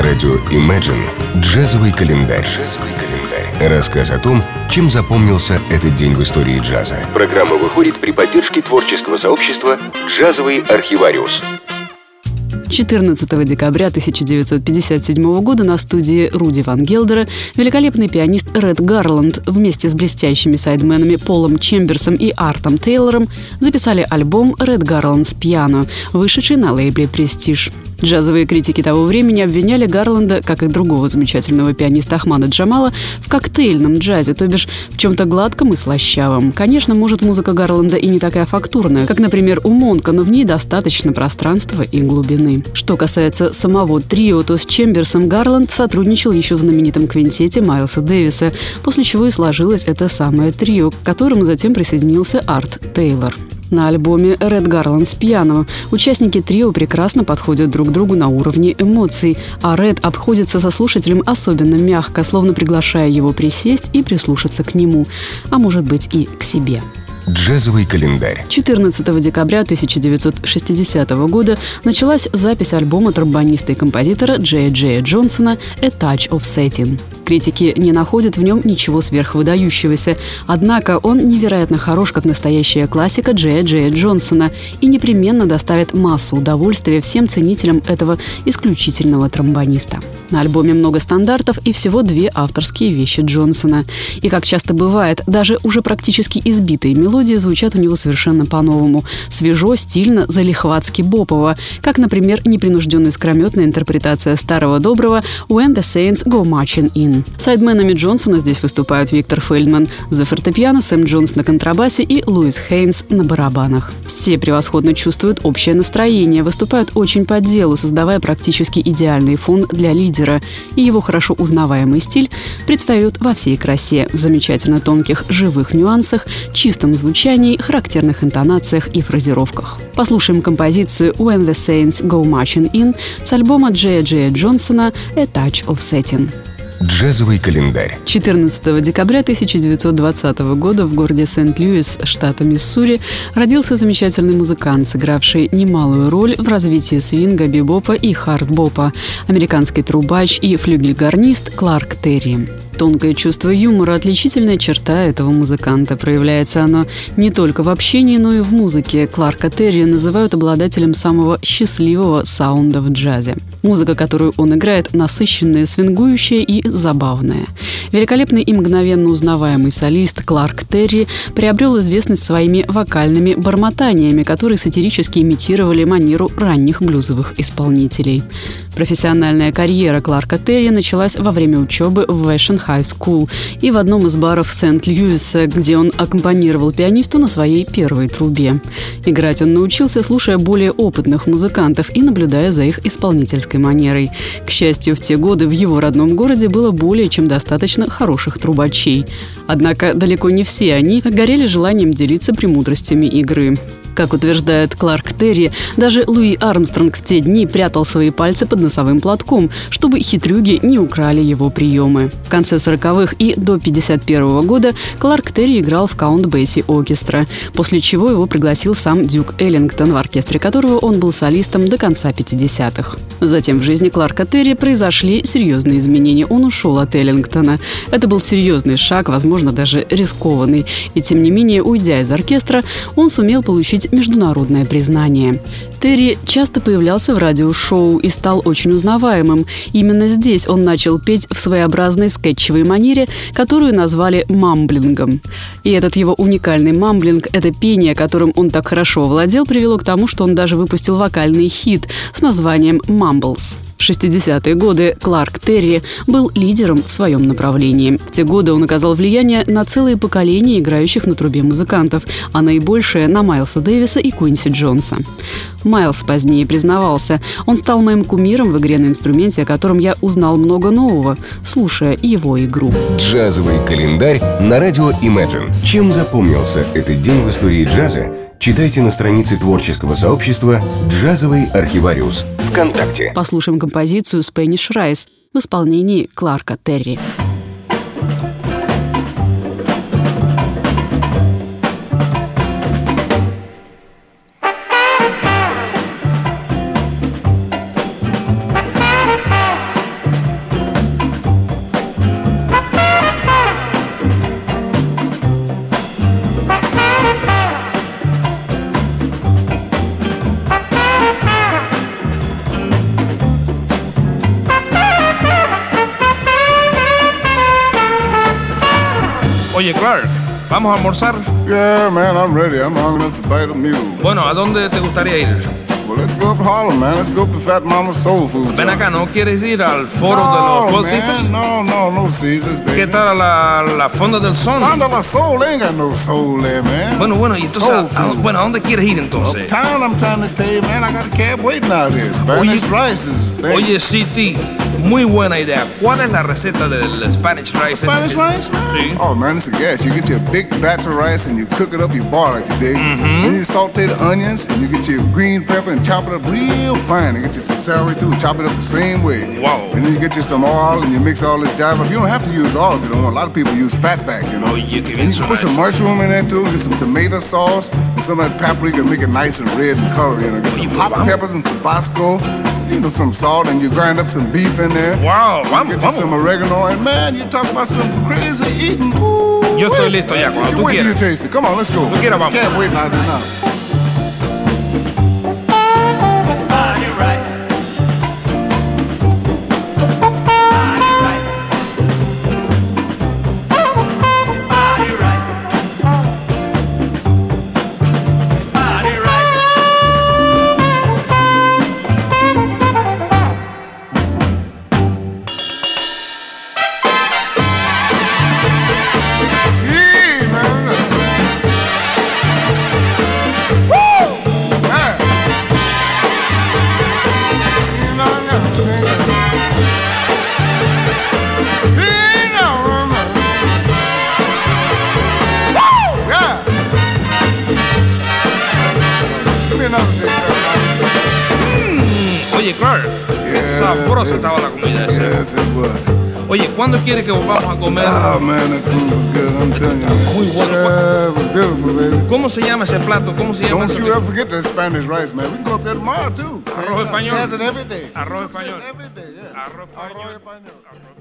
На радио Imagine «Джазовый календарь». Рассказ о том, чем запомнился этот день в истории джаза. Программа выходит при поддержке творческого сообщества «Джазовый архивариус». 14 декабря 1957 года на студии Руди Ван Гелдера великолепный пианист Ред Гарланд вместе с блестящими сайдменами Полом Чемберсом и Артом Тейлором записали альбом «Ред Гарланд's Piano», вышедший на лейбле «Престиж». Джазовые критики того времени обвиняли Гарланда, как и другого замечательного пианиста Ахмада Джамала, в коктейльном джазе, то бишь в чем-то гладком и слащавом. Конечно, может, музыка Гарланда и не такая фактурная, как, например, у Монка, но в ней достаточно пространства и глубины. Что касается самого трио, то с Чемберсом Гарланд сотрудничал еще в знаменитом квинтете Майлса Дэвиса, после чего и сложилось это самое трио, к которому затем присоединился Арт Тейлор. На альбоме «Ред Гарланд's Piano» участники трио прекрасно подходят друг другу на уровне эмоций, а Ред обходится со слушателем особенно мягко, словно приглашая его присесть и прислушаться к нему, а может быть и к себе. Джазовый календарь. 14 декабря 1960 года началась запись альбома тромбониста и композитора Джея Джонсона «A Touch of Satin». Критики не находят в нем ничего сверхвыдающегося, однако он невероятно хорош, как настоящая классика Джея Джонсона, и непременно доставит массу удовольствия всем ценителям этого исключительного тромбониста. На альбоме много стандартов и всего 2 авторские вещи Джонсона. И, как часто бывает, даже уже практически избитые мелодии звучат у него совершенно по-новому. Свежо, стильно, залихватски бопово, как, например, непринужденная скрометная интерпретация старого доброго «When the Saints Go Marching In». Сайдменами Джонсона здесь выступают Виктор Фельдман за фортепиано, Сэм Джонс на контрабасе и Луис Хейнс на барабанах. Все превосходно чувствуют общее настроение, выступают очень по делу, создавая практически идеальный фон для лидера, и его хорошо узнаваемый стиль предстает во всей красе, в замечательно тонких живых нюансах, чистом звучании, характерных интонациях и фразировках. Послушаем композицию «When the Saints Go Marching In» с альбома Джея Джонсона «A Touch of Satin». Джазовый календарь. 14 декабря 1920 года в городе Сент-Луис, штата Миссури, родился замечательный музыкант, сыгравший немалую роль в развитии свинга, бибопа и хард-бопа, американский трубач и флюгельгорнист Кларк Терри. Тонкое чувство юмора – отличительная черта этого музыканта. Проявляется оно не только в общении, но и в музыке. Кларка Терри называют обладателем самого счастливого саунда в джазе. Музыка, которую он играет, насыщенная, свингующая и забавная. Великолепный и мгновенно узнаваемый солист Кларк Терри приобрел известность своими вокальными бормотаниями, которые сатирически имитировали манеру ранних блюзовых исполнителей. Профессиональная карьера Кларка Терри началась во время учебы в Vashon High School и в одном из баров Сент-Луиса, где он аккомпанировал пианисту на своей первой трубе. Играть он научился, слушая более опытных музыкантов и наблюдая за их исполнительской манерой. К счастью, в те годы в его родном городе было более чем достаточно хороших трубачей. Однако далеко не все они горели желанием делиться премудростями игры. Как утверждает Кларк Терри, даже Луи Армстронг в те дни прятал свои пальцы под носовым платком, чтобы хитрюги не украли его приемы. В конце 40-х и до 1951 года Кларк Терри играл в Count Basie Orchestra, после чего его пригласил сам Дюк Эллингтон, в оркестре которого он был солистом до конца 50-х. Затем в жизни Кларка Терри произошли серьезные изменения. Он ушел от Эллингтона. Это был серьезный шаг, возможно, даже рискованный. И тем не менее, уйдя из оркестра, он сумел получить международное признание. Терри часто появлялся в радиошоу и стал очень узнаваемым. Именно здесь он начал петь в своеобразной скетчевой манере, которую назвали мамблингом. И этот его уникальный мамблинг, это пение, которым он так хорошо овладел, привело к тому, что он даже выпустил вокальный хит с названием «Mumbles». В 60-е годы Кларк Терри был лидером в своем направлении. В те годы он оказал влияние на целые поколения играющих на трубе музыкантов, а наибольшее – на Майлса Дэвиса и Куинси Джонса. Майлс позднее признавался: он стал моим кумиром в игре на инструменте, о котором я узнал много нового, слушая его игру. Джазовый календарь на радио Imagine. Чем запомнился этот день в истории джаза? Читайте на странице творческого сообщества «Джазовый архивариус» ВКонтакте. Послушаем композицию «Spanish Rice» в исполнении Кларка Терри. Oye, Clark, ¿vamos a almorzar? Yeah, man, I'm ready. I'm hungry enough to bite a mule. Bueno, ¿a dónde te gustaría ir? Well, let's go up Harlem, man. Let's go up to Fat Mama's Soul Food. Ven acá, ¿no quieres ir al foro de los Four Seasons? No Caesars, baby. ¿Qué tal la Fonda del Sol? Fonda del Sol, they ain't got no soul there, man. Bueno, y entonces, ¿a dónde quieres ir entonces? Uptown, I'm trying to tell you, man, I got a cab waiting out here. Spanish rice is thing. Oye, CT, muy buena idea. ¿Cuál es la receta del Spanish rice? Spanish rice, man? Sí. Oh, man, it's a gas. You get your big batch of rice and you cook it up, you boil it, you dig? Then you saute the onions and you get your green pepper and chop it up real fine. And get you some celery too, chop it up the same way. Wow. And then you get you some oil and you mix all this jive up. You don't have to use oil if you don't want. A lot of people use fatback, you know. Oye, qué bien And you put some mushroom in there too, get some tomato sauce and some of that paprika and make it nice and red and color, you know. Get some hot peppers and Tabasco, you know, some salt, and you grind up some beef in there. Wow, Get you some oregano, and man, you talk about some crazy eating. Yo estoy listo ya, cuando tú Wait till you quieras. taste it. Come on, let's go. Tú quieras, vamos. Can't wait now, now. Oye, Clark, qué sabrosa estaba la comida esa. Yes, it was. Oye, ¿cuándo quieres que volvamos a comer? Oh, man, that food was good, I'm telling you. Muy bueno. Yeah, it was beautiful, baby. ¿Cómo se llama ese plato? ¿Cómo se llama Don't eso? you ever forget that Spanish rice, man. We can go up there tomorrow, too. Arroz español. Has it every day. Arroz español. Every day, yeah. Arroz español. Arroz español.